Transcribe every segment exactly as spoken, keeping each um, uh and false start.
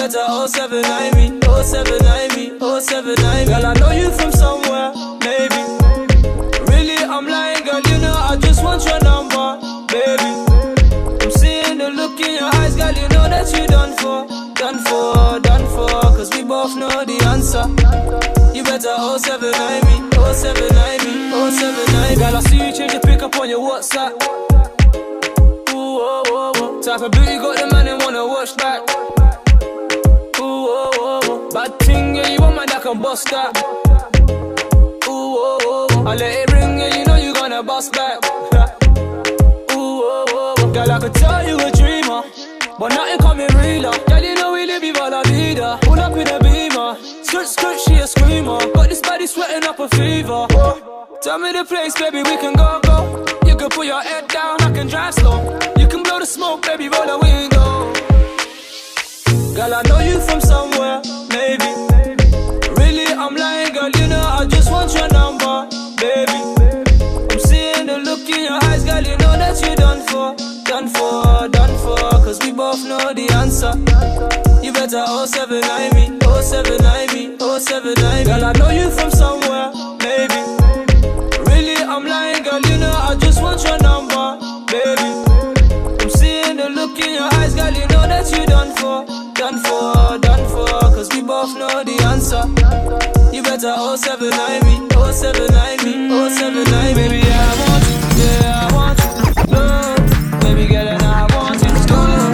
better oh seven nine me, oh seven nine me, oh seven nine me. Girl, I know you from somewhere, maybe. Really, I'm lying, girl, you know I just want your number, baby. I'm seeing the look in your eyes, girl, you know that you done for, done for, done for. Cause we both know the answer. You better oh seven nine me, oh seven nine me, oh seven nine me. Girl, I see you change your pick up on your WhatsApp. Ooh, oh, oh, oh. Type of beauty got the man and wanna watch back. Ooh, oh, oh, oh. Bad thing, yeah, you want my that can bust that. Ooh, oh, oh, oh. I let it ring, yeah, you know you gonna bust back. Ooh, oh, oh, oh. Girl, I could tell you a dreamer, but nothing coming realer. Girl, you know we live viva la vida. Pull up with a beamer, skirt, skirt, she a screamer. Got this body sweating up a fever. Tell me the place, baby, we can go, go. You can put your head down, I can drive slow. You can blow the smoke, baby, roll the window. Girl, I know you from somewhere, maybe. Really, I'm lying, girl, you know I just want your number, baby. I'm seeing the look in your eyes, girl, you know that you done for, done for, done for. Cause we both know the answer. You better oh seven nine me, oh seven nine me, oh seven nine me. Girl, I know you from somewhere, maybe. Really, I'm lying, girl, you know I just want your number, baby. I'm seeing the look in your eyes, girl, you know that you done for, done for, done for. Cause we both know the answer. You better oh seven nine me, oh seven nine me, oh seven nine me. Baby, I want you, yeah, I want you. Love, baby girl, and I want you. Love,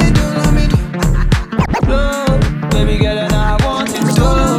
love, baby girl, and I want you. Love.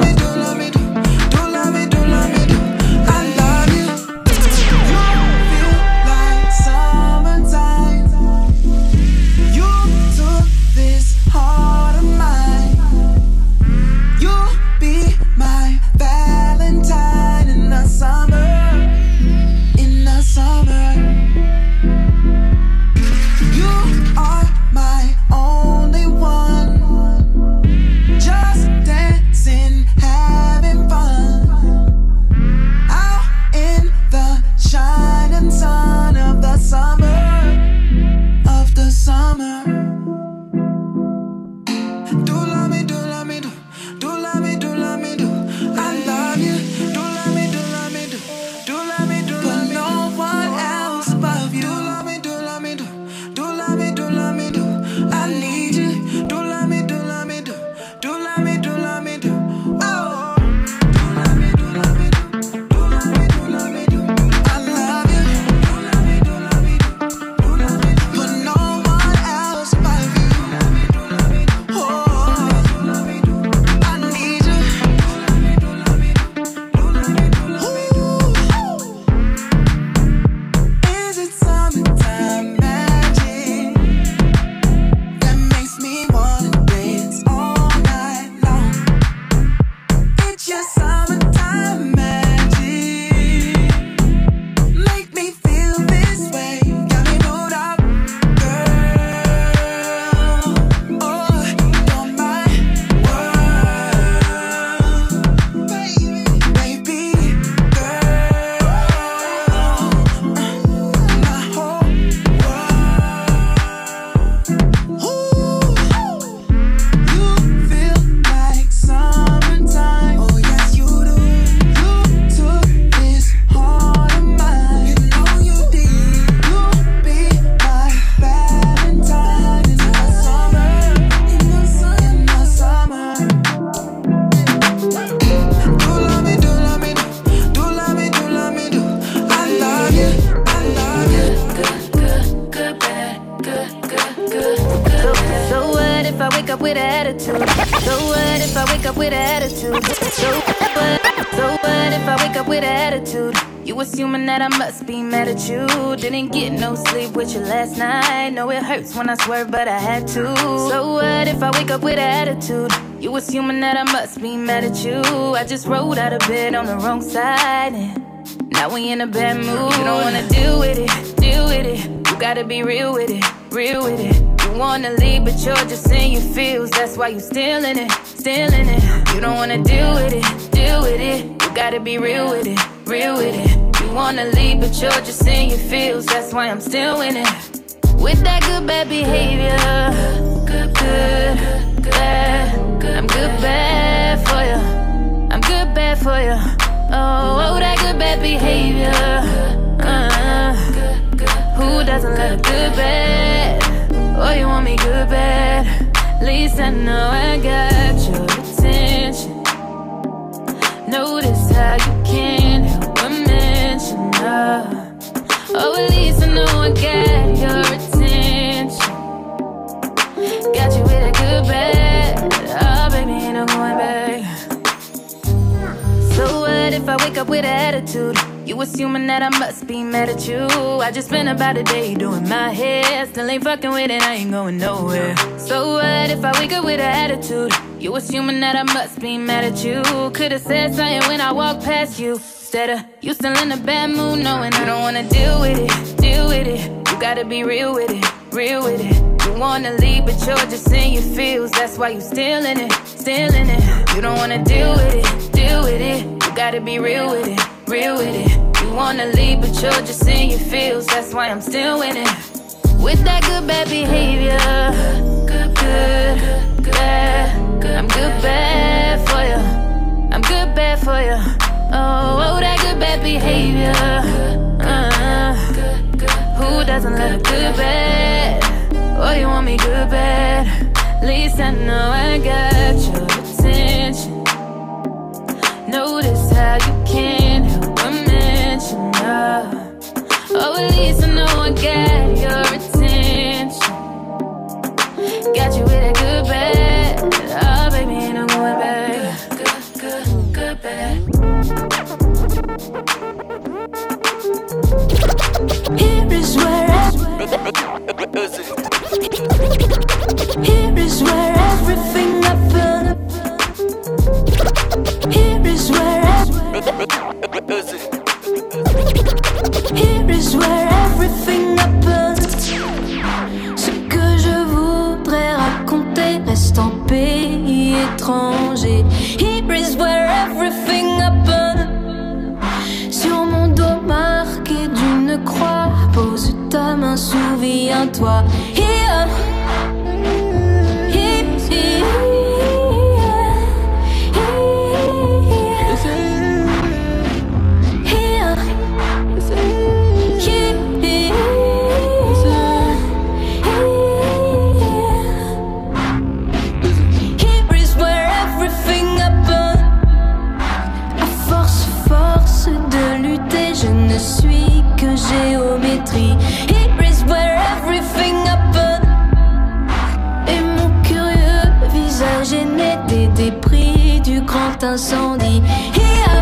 Didn't get no sleep with you last night. Know it hurts when I swerve, but I had to. So what if I wake up with attitude? You assuming that I must be mad at you. I just rolled out of bed on the wrong side, and now we in a bad mood. You don't wanna deal with it, deal with it. You gotta be real with it, real with it. You wanna leave, but you're just in your feels. That's why you still in it, still in it. You don't wanna deal with it, deal with it. You gotta be real with it, real with it. You wanna leave, but you're just in your feels. That's why I'm still in it. With that good bad behavior, good, good, bad. I'm good, bad for you. I'm good, bad for you. Oh, oh, that good, bad behavior. Uh, who doesn't love a good, bad? Oh, you want me good, bad? At least I know I got your attention. Notice how you can't help but mention her. Oh, at least I know I got your attention. Got you with a good bad. Oh, baby, ain't no going back. So what if I wake up with an attitude? You assuming that I must be mad at you. I just spent about a day doing my hair. Still ain't fucking with it, I ain't going nowhere. So what if I wake up with an attitude? You assuming that I must be mad at you. Could've said something when I walked past you. Instead of you still in a bad mood, knowing I don't wanna deal with it, deal with it. You gotta be real with it, real with it. You wanna leave, but you're just in your feels. That's why you still in it, still in it. You don't wanna deal with it, deal with it. You gotta be real with it, real with it. You wanna leave, but you're just in your feels. That's why I'm still in it. With that good bad behavior. Good, good, bad. I'm good bad for you. I'm good bad for you. Oh, oh, that good bad behavior. Uh, who doesn't love a good bad? Oh, you want me good bad? At least I know I got your attention. Notice how you can't help but mention her. Oh, at least I know I got your attention. Got you with a good bad. Oh, baby, ain't no going back. Good, good, good bad. Here is where Here is where everything happened. Here is where Here is where everything happened. Ce que je voudrais raconter reste en pays étranger. Here is where everything happened. Sur mon dos marqué d'une croix, pose ta main, souviens-toi. Here, here, here, géométrie. Here is where everything happened. Et mon curieux visage est né des débris du grand incendie. Here,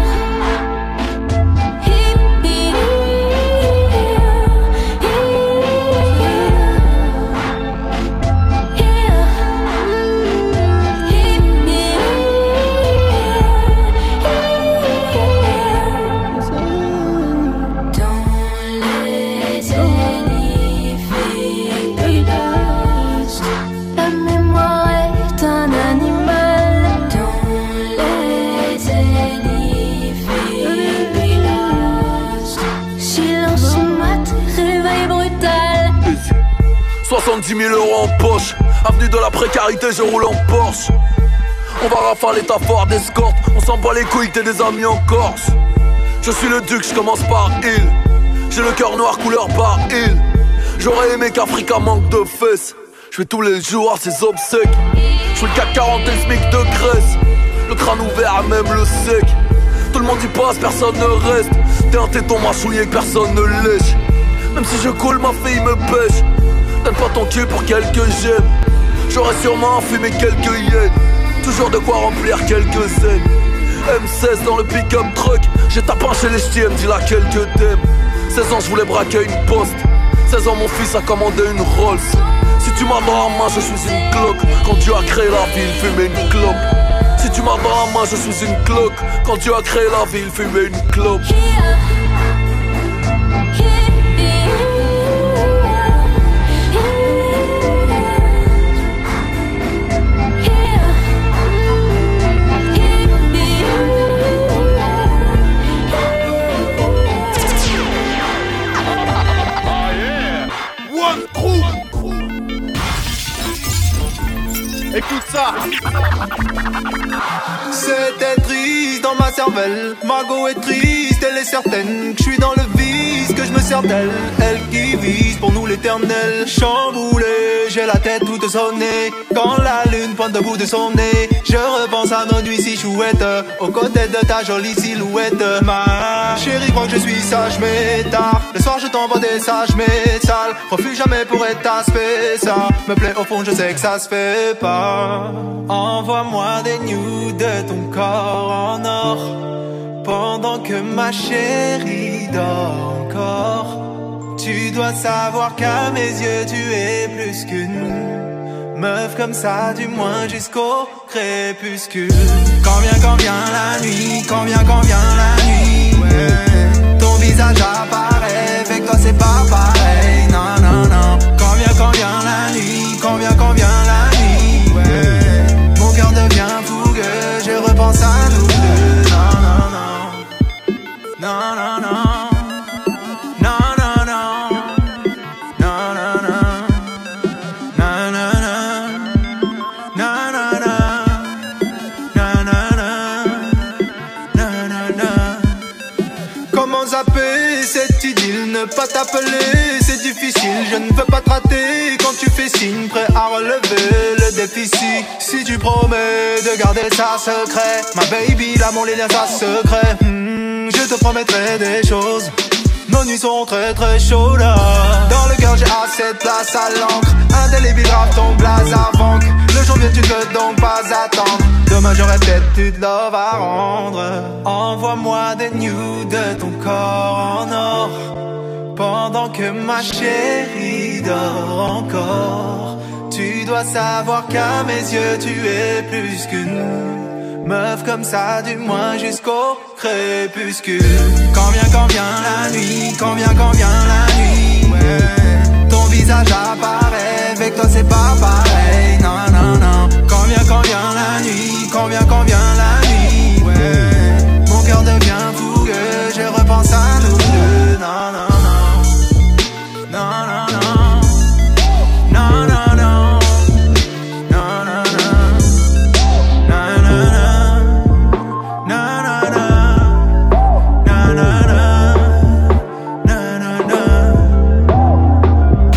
soixante-dix mille euros en poche, avenue de la précarité, je roule en Porsche. On va rafaler ta Ford Escort, on s'en bat les couilles, t'es des amis en Corse. Je suis le duc, je commence par il. J'ai le cœur noir couleur par il. J'aurais aimé qu'Africa manque de fesses. Je fais tous les jours à ses obsèques. Je suis le CAC quarante et le SMIC de Grèce. Le crâne ouvert, même le sec. Tout le monde y passe, personne ne reste. T'es un téton mâchouillé que personne ne lèche. Même si je coule, ma fille me pêche. Donne pas ton cul pour quelques gemmes. J'aurais sûrement fumé quelques yens. Toujours de quoi remplir quelques zen. M seize dans le pick-up truck. J'ai tapé chez les ch'tis, elle me dit là quelques thèmes. Seize ans je voulais braquer une poste. Seize ans mon fils a commandé une Rolls. Si tu m'as dans la main je suis une cloque. Quand Dieu a créé la vie il fumait une clope. Si tu m'as dans la main je suis une cloque. Quand Dieu a créé la vie il fumait une clope. Écoute ça. C'était triste dans ma cervelle. Margot est triste, elle est certaine que je suis dans le vice, que je me sers d'elle. Elle qui vise pour nous l'éternel. Chamboulé, j'ai la tête toute sonnée. Quand la lune pointe au bout de son nez, je repense à nos nuits si chouettes, aux côtés de ta jolie silhouette. Ma chérie crois que je suis sage mais tard. Le soir je t'envoie des sages mais sales. Refuse jamais pour être aspect. Ça me plaît au fond, je sais que ça se fait pas. Envoie-moi des nudes de ton corps en or, pendant que ma chérie dort encore. Tu dois savoir qu'à mes yeux tu es plus qu'une meuf comme ça, du moins jusqu'au crépuscule. Quand vient, quand vient la nuit, quand vient, quand vient la nuit, ouais. Ton visage apparaît, avec toi c'est pas pareil, non, non, non. Quand vient, quand vient la nuit, quand vient, quand vient la nuit, ouais. Mon cœur devient fougueux, je repense à nous deux, non, non, non. Non, non, non. Pas t'appeler, c'est difficile, je ne veux pas te rater. Quand tu fais signe, prêt à relever le déficit. Si tu promets de garder ça secret, ma baby, l'amour, les liens, ça secret. hmm, Je te promettrai des choses. Nos nuits sont très très chaudes. Dans le cœur j'ai assez de place à l'encre. Indélébile grave ton blaze avant que le jour vienne, tu ne peux donc pas attendre. Demain j'aurais peut-être du de love à rendre. Envoie-moi des nudes de ton corps en or, pendant que ma chérie dort encore. Tu dois savoir qu'à mes yeux tu es plus qu'une meuf comme ça, du moins jusqu'au crépuscule. Quand vient, quand vient la nuit, quand vient, quand vient la nuit, ouais. Ton visage apparaît, avec toi c'est pas pareil, non, non, non. Quand vient, quand vient la nuit, quand vient, quand vient la nuit, ouais. Mon cœur devient fougueux, je repense à nous deux, non, non. No, no, no. No, no, no. No, no, no. No, no, no. No, no, no. No, no, no. No, no, no.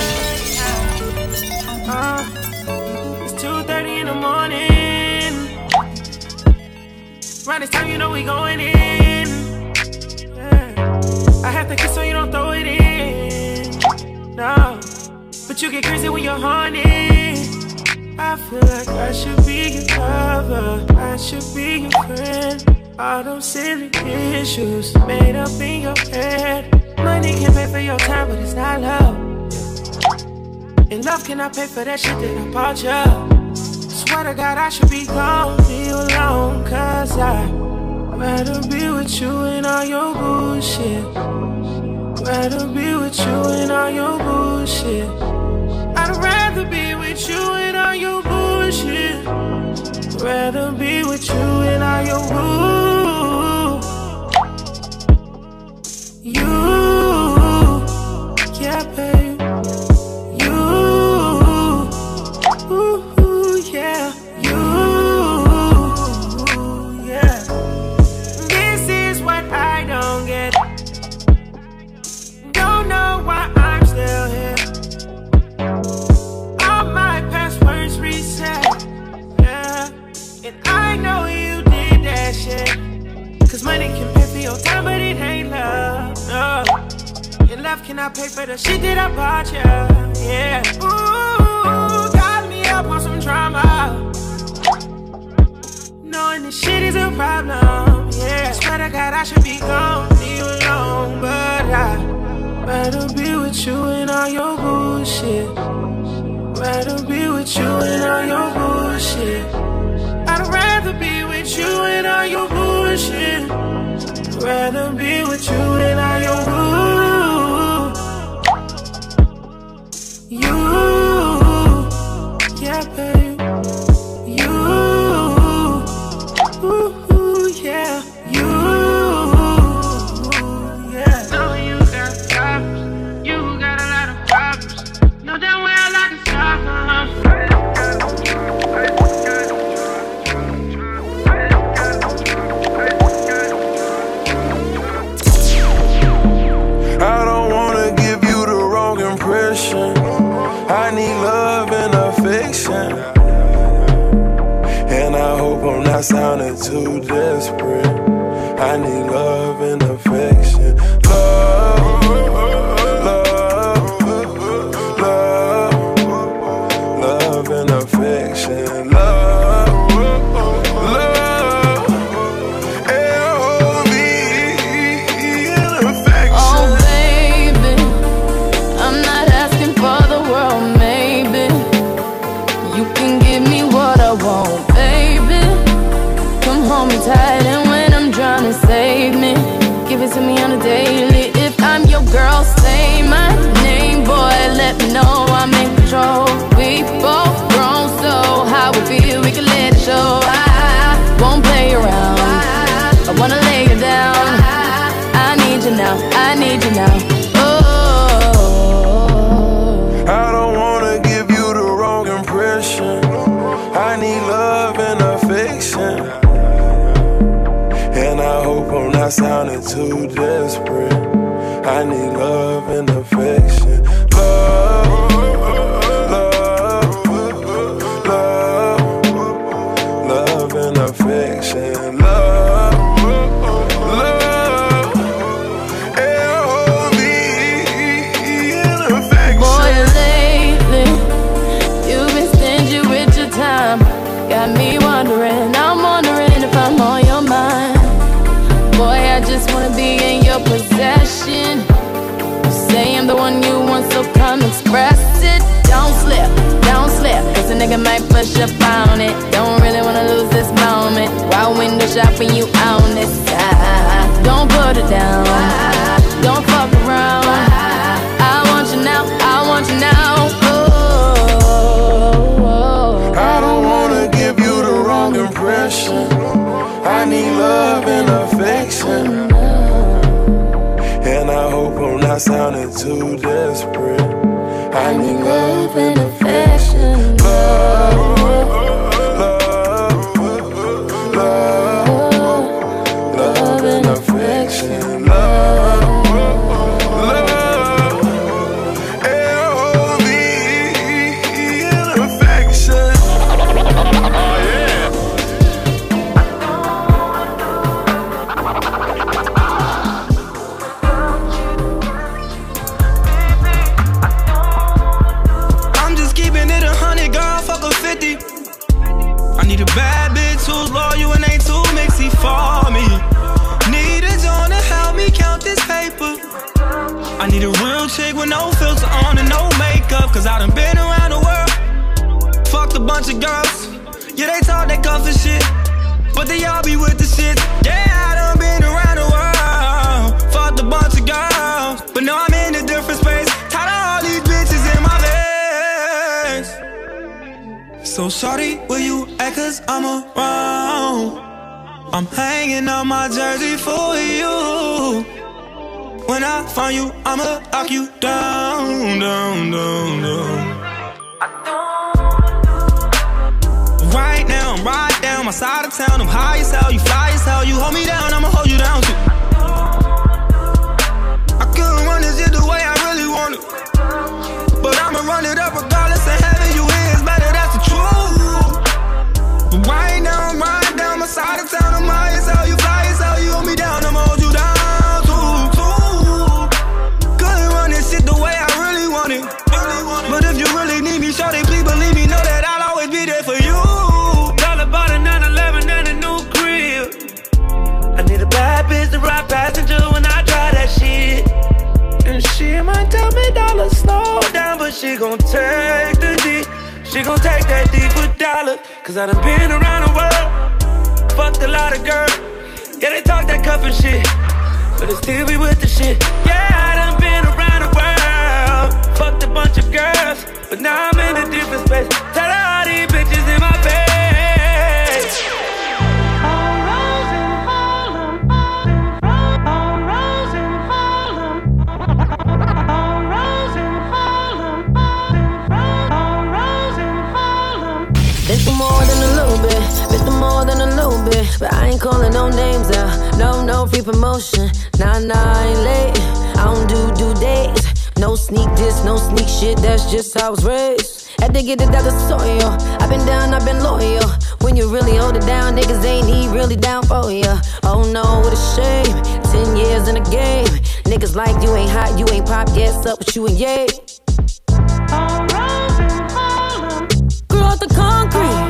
Uh, it's two thirty in the morning. Right this time you know we going in. Yeah. I have to kiss so you don't throw it in. No, but you get crazy when you're horny. I feel like I should be your lover, I should be your friend. All those silly issues made up in your head. Money can pay for your time, but it's not love. And love cannot pay for that shit that I bought you. Swear to God I should be gone, leave you alone. Cause I'd rather be with you and all your bullshit. Rather be with you and all your bullshit. I'd rather be with you and all your bullshit. Rather be with you and all your bull. You, yeah, babe. You, ooh, yeah. You, yeah. This is what I don't get. Know why I'm still here. All my passwords reset, yeah. And I know you did that shit. Cause money can pay for your time, but it ain't love, no. And love cannot pay for the shit that I bought you, yeah. Ooh, got me up on some drama, knowing this shit is a problem, yeah. Swear to God I should be gone, leave you alone, but I rather be with you and all your bullshit. Rather be with you and all your bullshit. I'd rather be with you and all your bullshit. Rather be with you and all your bull. You, yeah, babe. You, ooh, yeah. You. sounded too desperate. I need love and affection. Love, love, love, love and affection. Love, love, L V and affection. Oh baby, I'm not asking for the world, maybe. You can give me what I want, baby. Come hold me tight and when I'm drowning, save me. Give it to me on a daily. If I'm your girl, say my name, boy. Let me know I'm in control. We both grown, so how we feel, we can let it show. I won't play around. I wanna lay you down. I need you now. I need you now. Oh, I don't wanna give you the wrong impression. I need love and affection. And I hope I'm not sounding too desperate. I need love and affection. Love, love, love, love and affection. Love, love, L V and affection. boy, lately you've been stingy with your time. Got me wondering, I'm wondering if I'm on your mind. Boy, I just wanna be in your possession. You say I'm the one you want, so come express it. Don't slip, don't slip, cause a nigga might push up on it. Don't really wanna lose this moment. While window shopping, you on this side. Don't put it down, don't fuck around. I want you now, I want you now. Oh, I don't wanna give you the wrong impression. I need love and affection. And I hope I'm not sounding too desperate. I need love and affection. Love, love, love, love and affection. Love, love, L V and affection. Oh yeah. I'm just keeping it a hundred, girl, fuck a fifty. I need a bad bitch who's loyal and ain't too mixy for me. Need a John to help me count this paper. I need a real chick with no filter on and no makeup, cause I done been around the world. Fucked a bunch of girls. Yeah, they talk that comfort shit, but they all be with the shit. Yeah, I done been around the world. Fucked a bunch of girls, but now I'm in a different space. Tired of all these bitches in my face. So shawty, will you act cause I'm around? I'm hanging up my jersey for you. When I find you, I'ma lock you down, down, down, down. Right now, I'm right down my side of town. I'm high as hell, you fly as hell. You hold me down, I'ma hold you down too. I couldn't run this shit the way I really want it, but I'ma run it up regardless of having you here is better, that's the truth. But right now, I'm right down my side of town. I'm high as hell, you fly as hell. You hold me down, I'ma hold you down too, too. Couldn't run this shit the way I really want it, really want it. But if you really need me, shawty, please believe me, know that I'll always be there for you. Bitch, the right passenger when I drive that shit. And she might tell me dollar slow down, but she gon' take the D. She gon' take that D for dollar. Cause I done been around the world, fucked a lot of girls. Yeah, they talk that cuff and shit, but they still be with the shit. Yeah, I done been around the world, fucked a bunch of girls, but now I'm in a different space. Tell all these bitches in my face. More than a little bit, bit more than a little bit, but I ain't calling no names out. No, no free promotion. Nah, nah, I ain't late. I don't do due dates. No sneak this, no sneak shit. That's just how I was raised. Had to get it out the soil. I've been down, I've been loyal. When you really hold it down, niggas ain't he really down for ya. Oh no, what a shame. Ten years in the game. Niggas like you ain't hot, you ain't pop, yes, up with you and yay. Grew out the concrete.